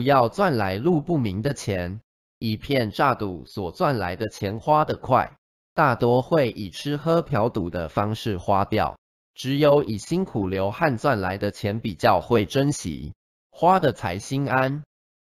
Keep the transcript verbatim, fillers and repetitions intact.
不要赚来路不明的钱，以骗诈赌所赚来的钱花得快，大多会以吃喝嫖赌的方式花掉。只有以辛苦流汗赚来的钱比较会珍惜，花得才心安。